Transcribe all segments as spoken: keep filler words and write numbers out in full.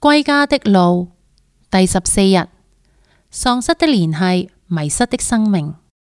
歸家的路第十四日，喪失的聯繫，迷失的生命。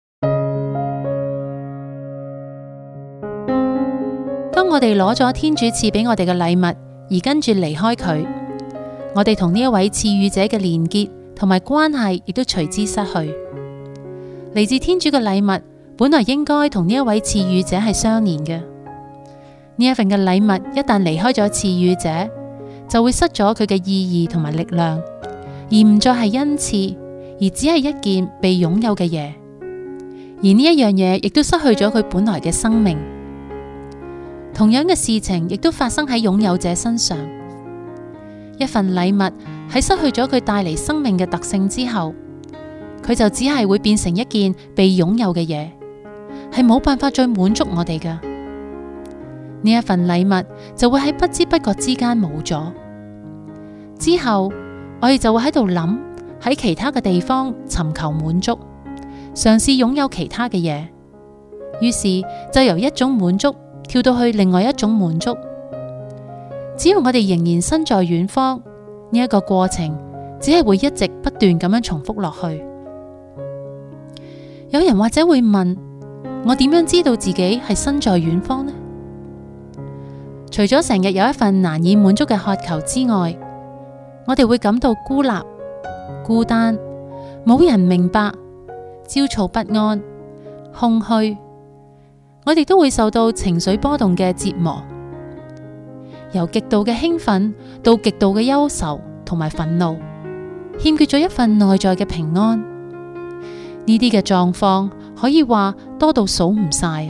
當我哋攞咗天主賜俾我哋嘅禮物，而跟住離開佢，我哋同呢一位賜予者嘅連結同埋關係，亦都隨之失去。嚟自天主嘅禮物，本來應該同呢一位賜予者係相連嘅。呢一份嘅禮物一旦離開咗賜予者，就會失咗佢嘅意義同埋力量，而唔再係恩賜，而只係一件被擁有嘅嘢。而呢一樣嘢亦都失去咗佢本來嘅生命。同樣嘅事情亦都發生喺擁有者身上。一份禮物喺失去咗佢帶嚟生命嘅特性之後，佢就只係會變成一件被擁有嘅嘢，係冇辦法再滿足我哋㗎。呢一份禮物就會喺不知不覺之間冇咗。之後我哋就會喺度諗，喺其他嘅地方尋求滿足，嘗試擁有其他嘅嘢，於是就由一種滿足跳到去另外一種滿足。只要我哋仍然身在遠方，呢一個過程只係會一直不斷咁樣重複落去。有人或者會問，我點樣知道自己係身在遠方呢？除咗成日有一份難以滿足嘅渴求之外，我哋會感到孤立、孤單，冇人明白，焦躁不安、空虛。我哋都會受到情緒波動嘅折磨，由極度嘅興奮到極度嘅憂愁同埋憤怒，欠缺咗一份內在嘅平安。呢啲嘅狀況可以話多到數唔晒。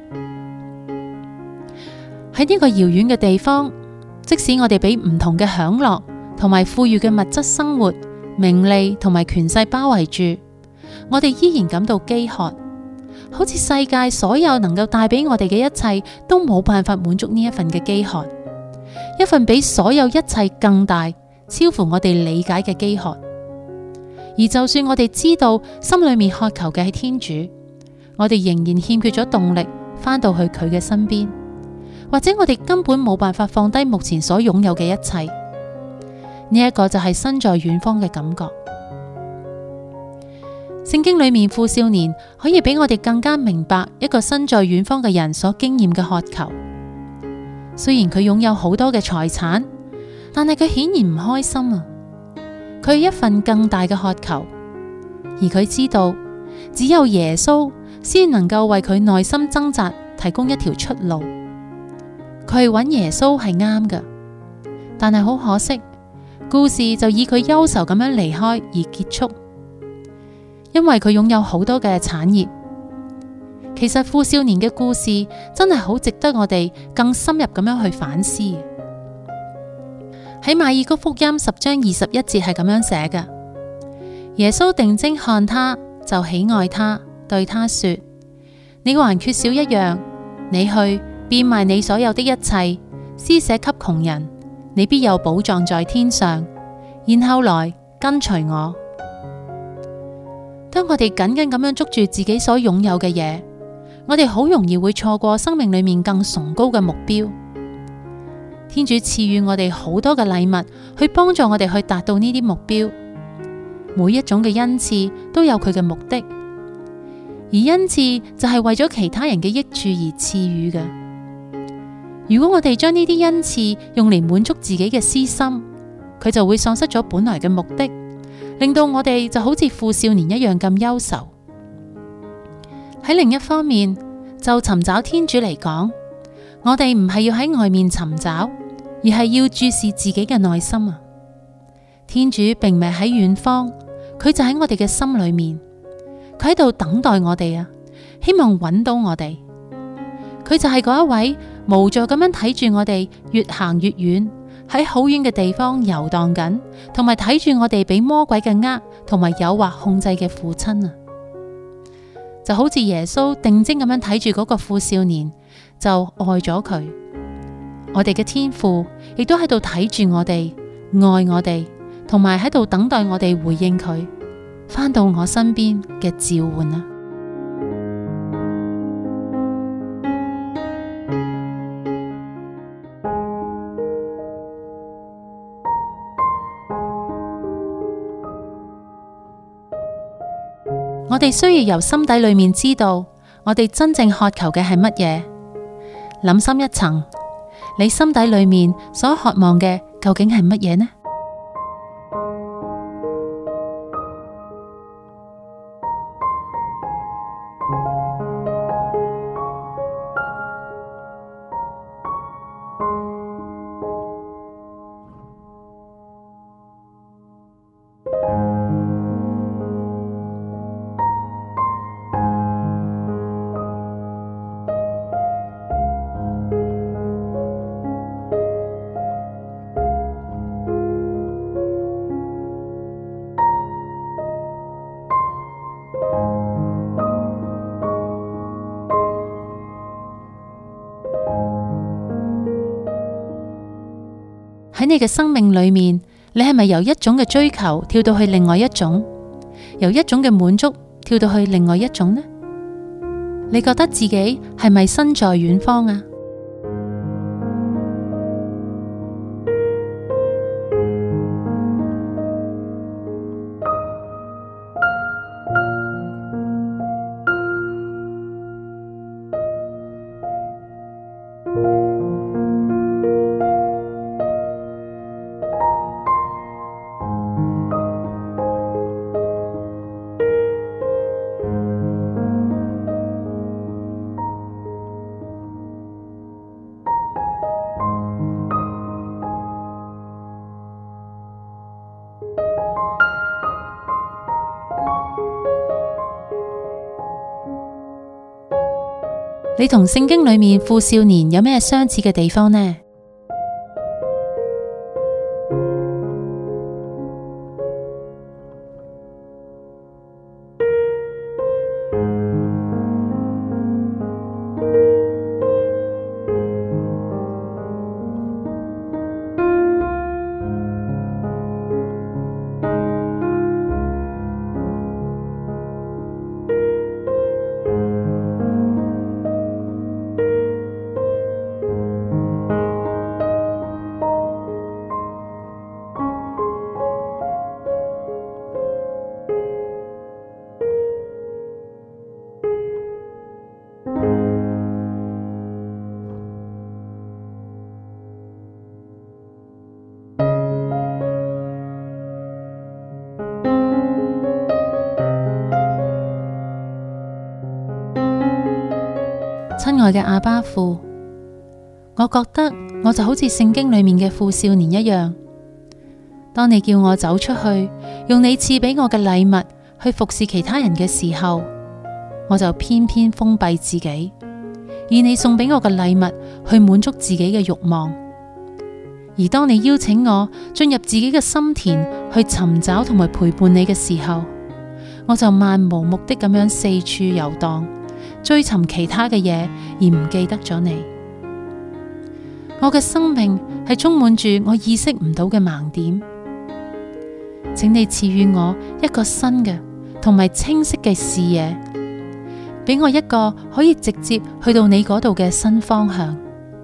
喺呢個遙遠嘅地方，即使我哋俾唔同嘅享樂同埋富裕嘅物質生活、名利同埋權勢包圍住，我哋依然感到飢渴，好似世界所有能夠帶俾我哋嘅一切都冇辦法滿足呢一份嘅飢渴，一份比所有一切更大、超乎我哋理解嘅飢渴。而就算我哋知道心裏面渴求嘅係天主，我哋仍然欠缺咗動力返到去佢嘅身邊，或者我哋根本冇辦法放低目前所擁有嘅一切。呢一個就係身在遠方嘅感覺。聖經裏面富少年可以俾我哋更加明白一個身在遠方嘅人所經驗嘅渴求。雖然佢擁有好多嘅財產，但係佢顯然唔開心啊！佢有一份更大嘅渴求，而佢知道只有耶穌先能夠為佢內心掙扎提供一條出路。佢揾耶穌係啱㗎，但係好可惜，故事就以佢憂愁咁樣離開而結束。因為佢擁有好多嘅產業。其實富少年嘅故事真係好值得我哋更深入咁樣去反思。喺馬爾谷福音十章二十一節係咁樣寫嘅：耶穌定睛看他，就喜愛他，對他說：你還缺少一樣，你去變賣你所有的一切，施捨給窮人，你必有寶藏在天上，然後來跟隨我。當我哋緊緊咁樣捉住自己所擁有嘅嘢，我哋好容易會錯過生命裏面更崇高嘅目標。天主賜予我哋好多嘅禮物，去幫助我哋去達到呢啲目標。每一種嘅恩賜都有佢嘅目的，而恩賜就係為咗其他人嘅益處而賜予嘅。如果我哋將呢啲恩賜用嚟滿足自己嘅私心，佢就會喪失咗本來嘅目的，令到我哋就好似富少年一樣咁憂愁。喺另一方面，就尋找天主嚟講，我哋唔係要喺外面尋找，而係要注視自己嘅內心啊！天主並唔係喺遠方，佢就喺我哋嘅心裏面，佢喺度等待我哋啊，希望揾到我哋。佢就係嗰一位無助咁樣睇住我哋越行越遠，喺好遠嘅地方遊蕩緊，同埋睇住我哋俾魔鬼嘅呃同埋誘惑控制嘅父親啊！就好似耶穌定睛咁樣睇住嗰個富少年，就愛咗佢。我哋嘅天父亦都喺度睇住我哋，愛我哋，同埋喺度等待我哋回應佢，返到我身邊嘅召喚啊！ 我哋需要由心底裏面知道，我哋真正渴求嘅係乜嘢。諗深一層，你心底裏面所渴望嘅究竟係乜嘢呢？喺你嘅生命裏面，你係咪由一種嘅追求跳到去另外一種，由一種嘅滿足跳到去另外一種呢？你覺得自己係咪身在遠方啊？你同聖經裏面富少年有咩相似嘅地方呢？親愛嘅阿爸父，我覺得我就好似聖經裏面嘅富少年一樣，當你叫我走出去，用你賜俾我嘅禮物去服侍其他人嘅時候，我就偏偏封閉自己，以你送俾我嘅禮物去滿足自己嘅慾望。而當你邀請我進入自己嘅心田去尋找同埋陪伴你嘅時候，我就漫無目的咁樣四處遊蕩，追尋其他嘅嘢，而唔記得咗你。我嘅生命係充滿住我意識唔到嘅盲點，請你賜予我一個新嘅同埋清晰嘅視野，俾我一個可以直接去到你嗰度嘅新方向。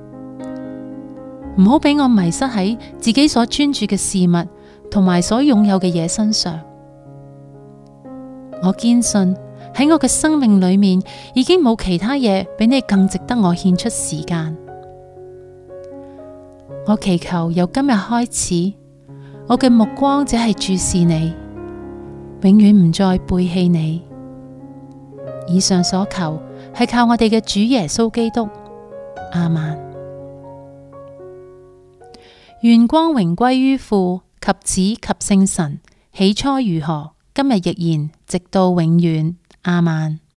唔好俾我迷失喺自己所專注嘅事物同埋所擁有嘅嘢身上。我堅信喺我嘅生命裏面已經冇其他嘢比你更值得我獻出時間。我祈求由今日開始，我嘅目光只係注視你，永遠唔再背棄你。以上所求係靠我哋嘅主耶穌基督。阿們。願光榮歸於父及子及聖神，起初如何，今日亦然，直到永遠。阿們。